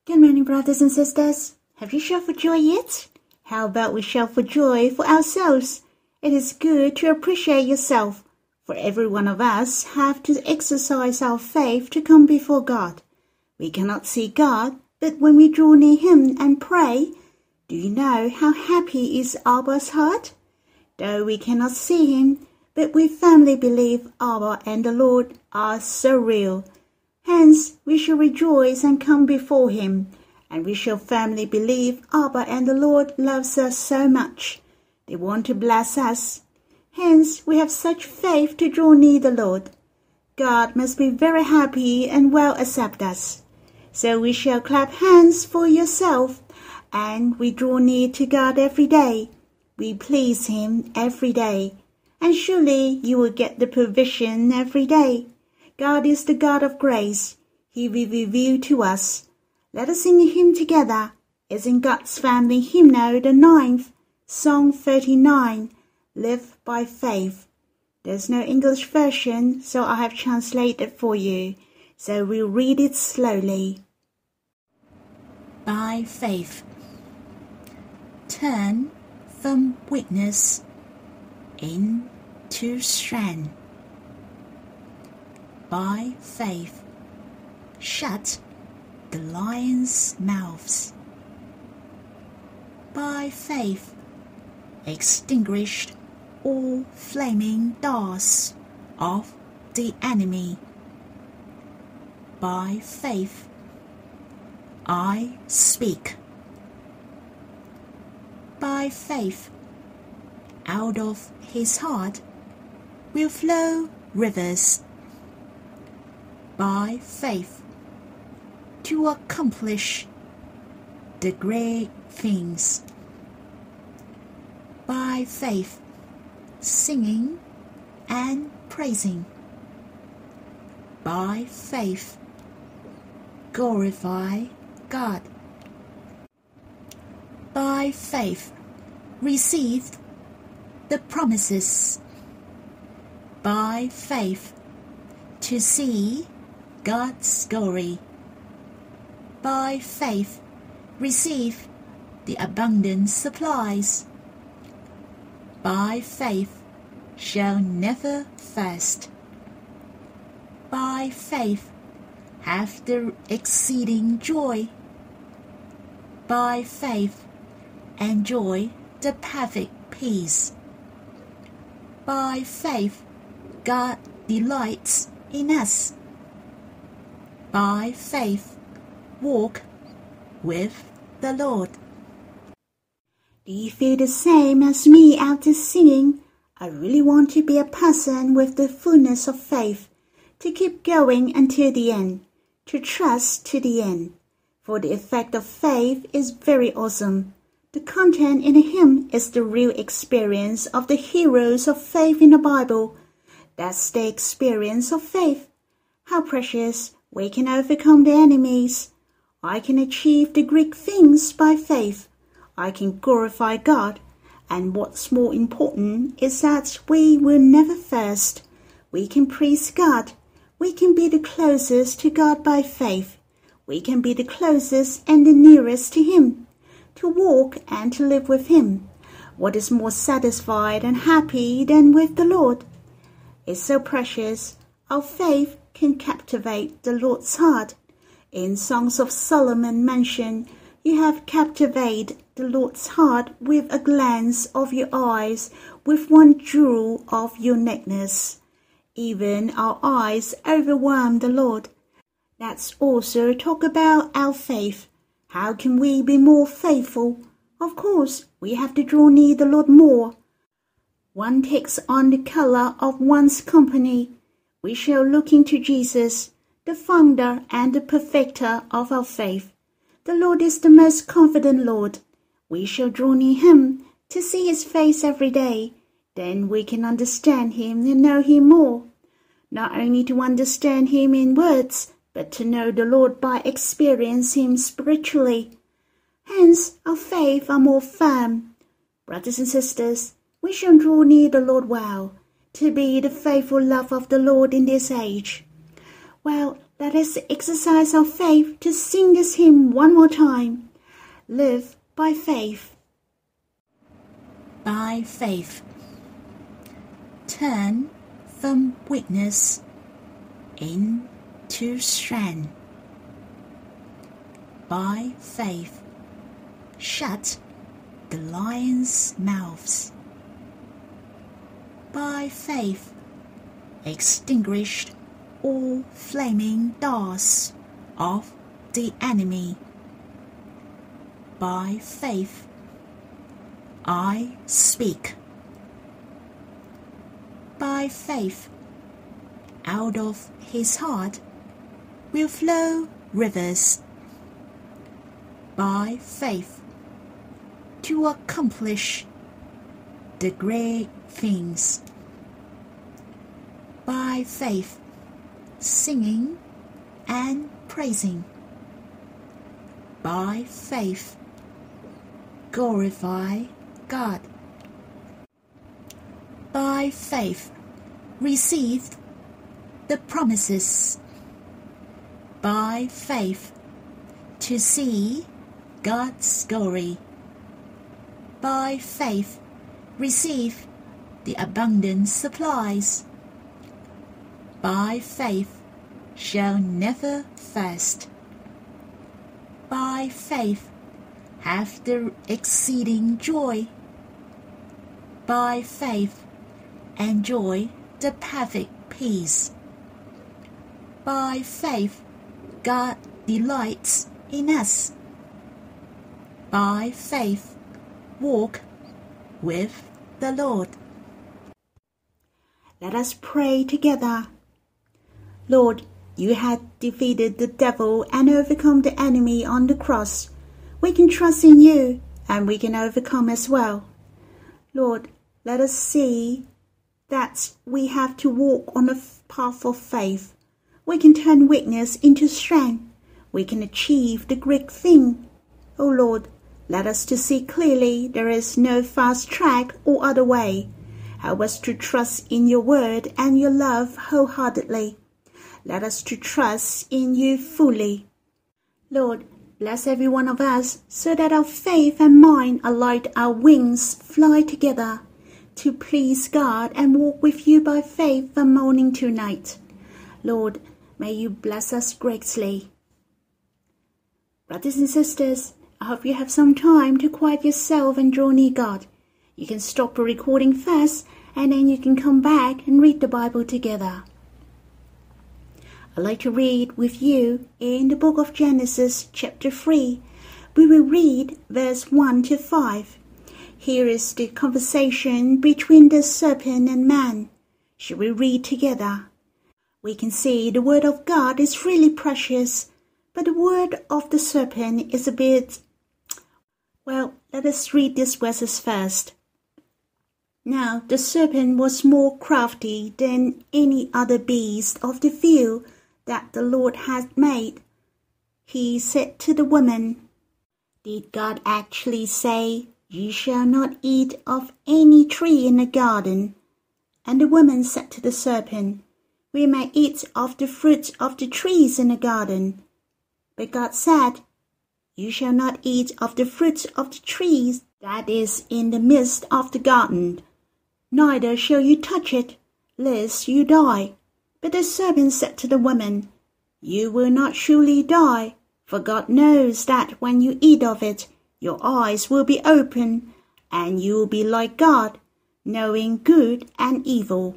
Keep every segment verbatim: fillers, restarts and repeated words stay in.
Good morning, brothers and sisters. Have you shouted for joy yet? How about we shout for joy for ourselves? It is good to appreciate yourself, for every one of us have to exercise our faith to come before God. We cannot see God, but when we draw near Him and pray, do you know how happy is Abba's heart? Though we cannot see Him, but we firmly believe Abba and the Lord are so real. Hence, we shall rejoice and come before Him, and we shall firmly believe Abba and the Lord loves us so much. They want to bless us. Hence, we have such faith to draw near the Lord. God must be very happy and well accept us. So we shall clap hands for yourself, and we draw near to God every day. We please Him every day, and surely you will get the provision every day. God is the God of grace. He will reveal to us. Let us sing a hymn together. It's in God's Family Hymnal, the ninth, Song thirty-nine, Live by Faith. There's no English version, so I have translated for you. So we'll read it slowly. By faith. Turn from weakness into strength. By faith, shut the lions' mouths. By faith, extinguished all flaming darts of the enemy. By faith, I speak. By faith, out of his heart will flow rivers. By faith, to accomplish the great things. By faith, singing and praising. By faith, glorify God. By faith, receive the promises. By faith, to see God's glory. By faith, receive the abundant supplies. By faith, shall never thirst. By faith, have the exceeding joy. By faith, enjoy the perfect peace. By faith, God delights in us. By faith, walk with the Lord. Do you feel the same as me after singing? I really want to be a person with the fullness of faith, to keep going until the end, to trust to the end. For the effect of faith is very awesome. The content in a hymn is the real experience of the heroes of faith in the Bible. That's the experience of faith. How precious! We can overcome the enemies. I can achieve the great things by faith. I can glorify God. And what's more important is that we will never thirst. We can praise God. We can be the closest to God by faith. We can be the closest and the nearest to Him, to walk and to live with Him. What is more satisfied and happy than with the Lord? It's so precious. Our faith can captivate the Lord's heart. In Songs of Solomon mention, you have captivated the Lord's heart with a glance of your eyes, with one jewel of your neckness. Even our eyes overwhelm the Lord. Let's also talk about our faith. How can we be more faithful? Of course, we have to draw near the Lord more. One takes on the color of one's company. We shall look into Jesus, the founder and the perfecter of our faith. The Lord is the most confident Lord. We shall draw near Him to see His face every day. Then we can understand Him and know Him more. Not only to understand Him in words, but to know the Lord by experience Him spiritually. Hence, our faith are more firm. Brothers and sisters, we shall draw near the Lord well, to be the faithful love of the Lord in this age. Well, Let us exercise our faith to sing this hymn one more time. Live by faith. By faith. Turn from weakness into strength. By faith. Shut the lions' mouths. By faith. Extinguished all flaming darts of the enemy. By faith. I speak. By faith, out of his heart will flow rivers. By faith, to accomplish the great things. By faith, singing and praising. By faith, glorify God. By faith, received the promises. By faith, to see God's glory. By faith, receive the abundant supplies. By faith, shall never thirst. By faith, have the exceeding joy. By faith, enjoy the perfect peace. By faith, God delights in us. By faith, walk with the Lord. Let us pray together. Lord, you had defeated the devil and overcome the enemy on the cross. We can trust in you, and we can overcome as well. Lord, let us see that we have to walk on the path of faith. We can turn weakness into strength. We can achieve the great thing. O Lord, let us to see clearly there is no fast track or other way. Help us to trust in your word and your love wholeheartedly. Let us to trust in you fully. Lord, bless every one of us so that our faith and mind are like our wings fly together to please God and walk with you by faith from morning to night. Lord, may you bless us greatly. Brothers and sisters, I hope you have some time to quiet yourself and draw near God. You can stop the recording first, and then you can come back and read the Bible together. I'd like to read with you in the book of Genesis chapter three. We will read verse one to five. Here is the conversation between the serpent and man. Shall we read together? We can see the word of God is really precious, but the word of the serpent is a bit... Well, let us read these verses first. Now the serpent was more crafty than any other beast of the field that the Lord had made. He said to the woman, "Did God actually say, 'You shall not eat of any tree in the garden'?" And the woman said to the serpent, "We may eat of the fruit of the trees in the garden. But God said, 'You shall not eat of the fruit of the trees that is in the midst of the garden, neither shall you touch it, lest you die.' But the serpent said to the woman, 'You will not surely die, for God knows that when you eat of it, your eyes will be open, and you will be like God, knowing good and evil.'"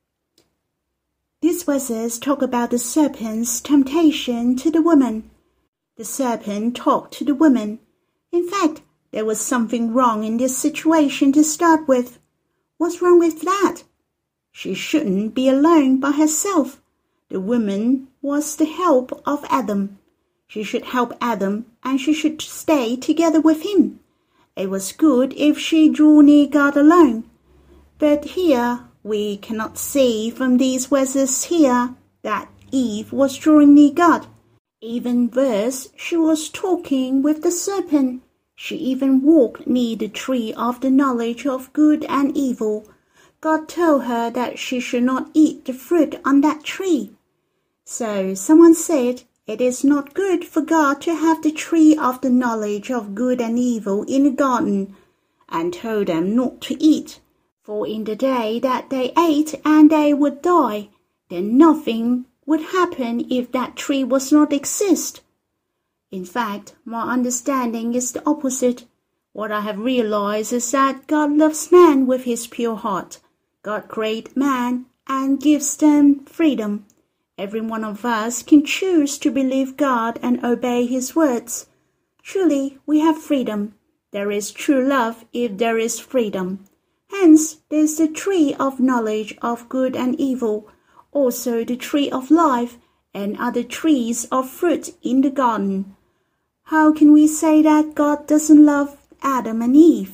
These verses talk about the serpent's temptation to the woman. The serpent talked to the woman. In fact, there was something wrong in this situation to start with. What's wrong with that? She shouldn't be alone by herself. The woman was the help of Adam. She should help Adam, and she should stay together with him. It was good if she drew near God alone. But here we cannot see from these verses here that Eve was drawing near God. Even worse, she was talking with the serpent. She even walked near the tree of the knowledge of good and evil. God told her that she should not eat the fruit on that tree. So someone said, "It is not good for God to have the tree of the knowledge of good and evil in the garden," and told them not to eat. For in the day that they ate and they would die, then nothing would happen if that tree was not exist. In fact, my understanding is the opposite. What I have realized is that God loves man with his pure heart. God created man and gives them freedom. Every one of us can choose to believe God and obey his words. Truly, we have freedom. There is true love if there is freedom. Hence, there is the tree of knowledge of good and evil, also the tree of life, and other trees of fruit in the garden. How can we say that God doesn't love Adam and Eve?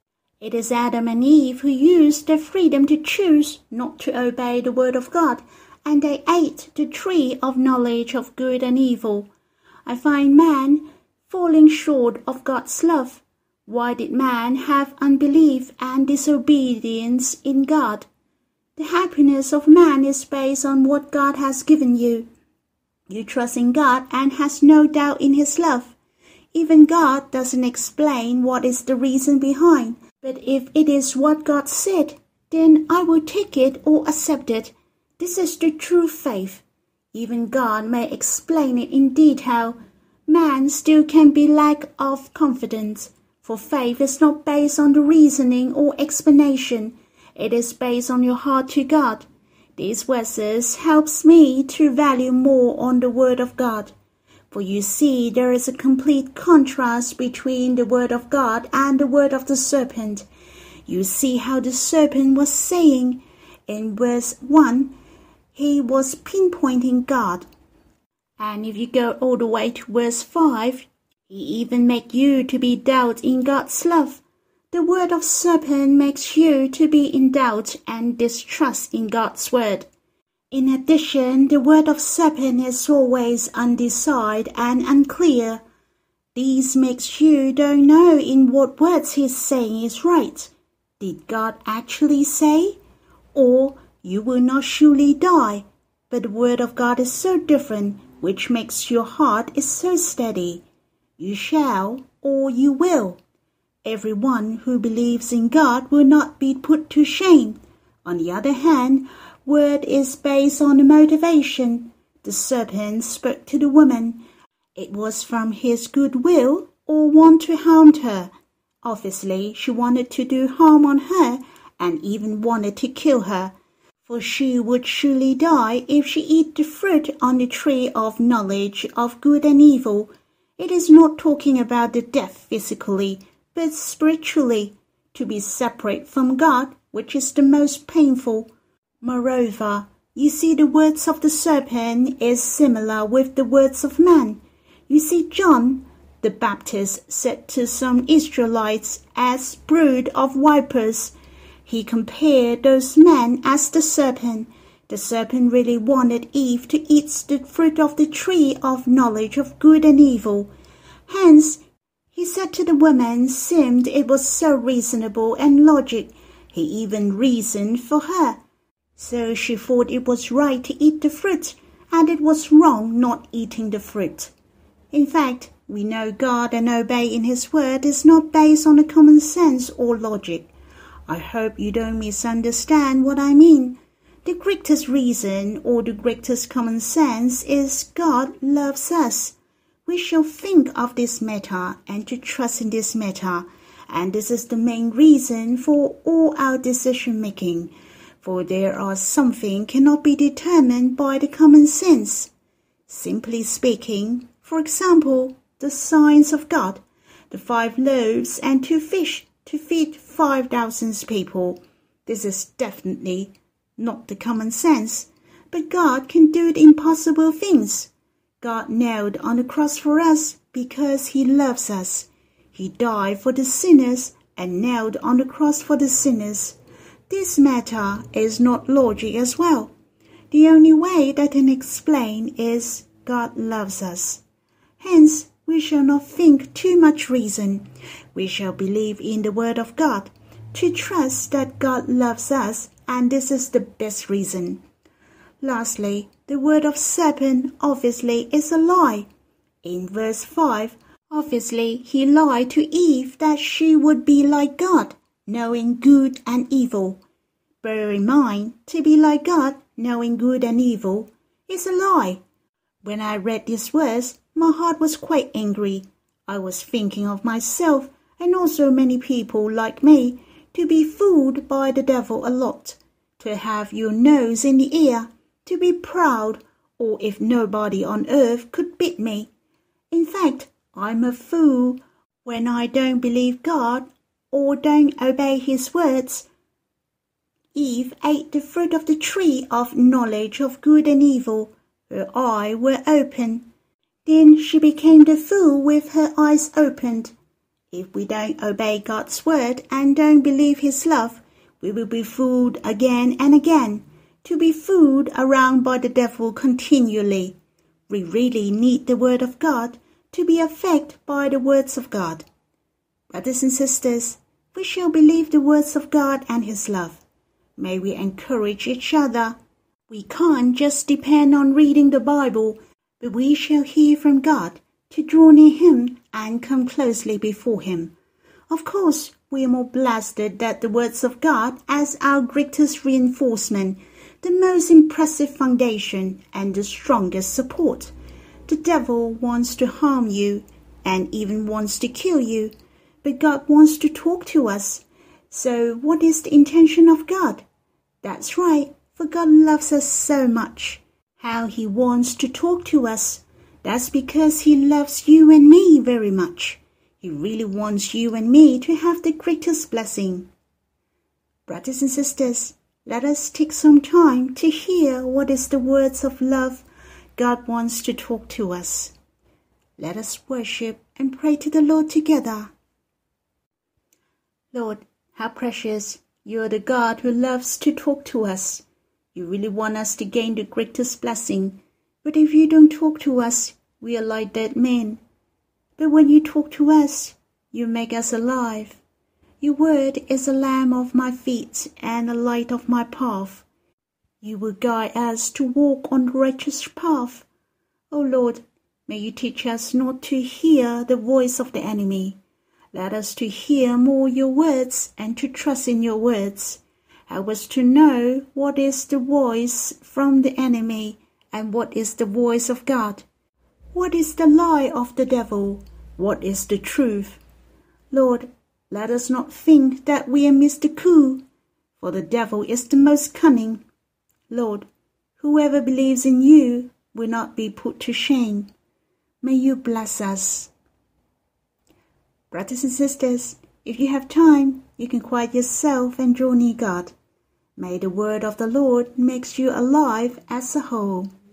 It is Adam and Eve who used their freedom to choose not to obey the word of God, and they ate the tree of knowledge of good and evil. I find man falling short of God's love. Why did man have unbelief and disobedience in God? The happiness of man is based on what God has given you. You trust in God and has no doubt in his love. Even God doesn't explain what is the reason behind, but if it is what God said, then I will take it or accept it. This is the true faith. Even God may explain it in detail. Man still can be lack of confidence, for faith is not based on the reasoning or explanation. It is based on your heart to God. These verses helps me to value more on the word of God. For you see, there is a complete contrast between the word of God and the word of the serpent. You see how the serpent was saying in verse one, he was pinpointing God. And if you go all the way to verse five, he even makes you to be doubt in God's love. The word of serpent makes you to be in doubt and distrust in God's word. In addition, the word of serpent is always undecided and unclear. This makes you don't know in what words he's saying is right. Did God actually say? Or you will not surely die. But the word of God is so different, which makes your heart is so steady. You shall, or you will. Everyone who believes in God will not be put to shame. On the other hand, word is based on the motivation. The serpent spoke to the woman. It was from his good will or want to harm her. Obviously, she wanted to do harm on her and even wanted to kill her, for she would surely die if she eat the fruit on the tree of knowledge of good and evil. It is not talking about the death physically, but spiritually, to be separate from God, which is the most painful. Moreover, you see the words of the serpent is similar with the words of man. You see, John the Baptist said to some Israelites as brood of vipers. He compared those men as the serpent. The serpent really wanted Eve to eat the fruit of the tree of knowledge of good and evil. Hence, he said to the woman, seemed it was so reasonable and logic. He even reasoned for her. So she thought it was right to eat the fruit, and it was wrong not eating the fruit. In fact, we know God and obey in his word is not based on the common sense or logic. I hope you don't misunderstand what I mean. The greatest reason or the greatest common sense is God loves us. We shall think of this matter and to trust in this matter, and this is the main reason for all our decision making. For there are something cannot be determined by the common sense. Simply speaking, for example, the signs of God, the five loaves and two fish to feed five thousand people. This is definitely not the common sense, but God can do the impossible things. God nailed on the cross for us because he loves us. He died for the sinners and nailed on the cross for the sinners. This matter is not logic as well. The only way that can explain is God loves us. Hence, we shall not think too much reason. We shall believe in the word of God, to trust that God loves us, and this is the best reason. Lastly, the word of serpent obviously is a lie. In verse five, obviously he lied to Eve that she would be like God, knowing good and evil. Bear in mind, to be like God, knowing good and evil, is a lie. When I read this verse, my heart was quite angry. I was thinking of myself and also many people like me to be fooled by the devil a lot, to have your nose in the air, to be proud, or if nobody on earth could beat me. In fact, I'm a fool when I don't believe God or don't obey his words. Eve ate the fruit of the tree of knowledge of good and evil. Her eyes were open. Then she became the fool with her eyes opened. If we don't obey God's word and don't believe his love, we will be fooled again and again, to be fooled around by the devil continually. We really need the word of God to be affected by the words of God. Brothers and sisters, we shall believe the words of God and his love. May we encourage each other. We can't just depend on reading the Bible, but we shall hear from God to draw near him and come closely before him. Of course, we are more blessed that the words of God as our greatest reinforcement, the most impressive foundation, and the strongest support. The devil wants to harm you and even wants to kill you, but God wants to talk to us. So what is the intention of God? That's right, for God loves us so much. How he wants to talk to us. That's because he loves you and me very much. He really wants you and me to have the greatest blessing. Brothers and sisters, let us take some time to hear what is the words of love God wants to talk to us. Let us worship and pray to the Lord together. Lord, how precious you are, the God who loves to talk to us. You really want us to gain the greatest blessing. But if you don't talk to us, we are like dead men. But when you talk to us, you make us alive. Your word is a lamp of my feet and a light of my path. You will guide us to walk on the righteous path. O Lord, may you teach us not to hear the voice of the enemy. Let us to hear more your words and to trust in your words. Help us to know what is the voice from the enemy and what is the voice of God. What is the lie of the devil? What is the truth? Lord, let us not think that we are Mister Cool, for the devil is the most cunning. Lord, whoever believes in you will not be put to shame. May you bless us. Brothers and sisters, if you have time, you can quiet yourself and draw near God. May the word of the Lord make you alive as a whole.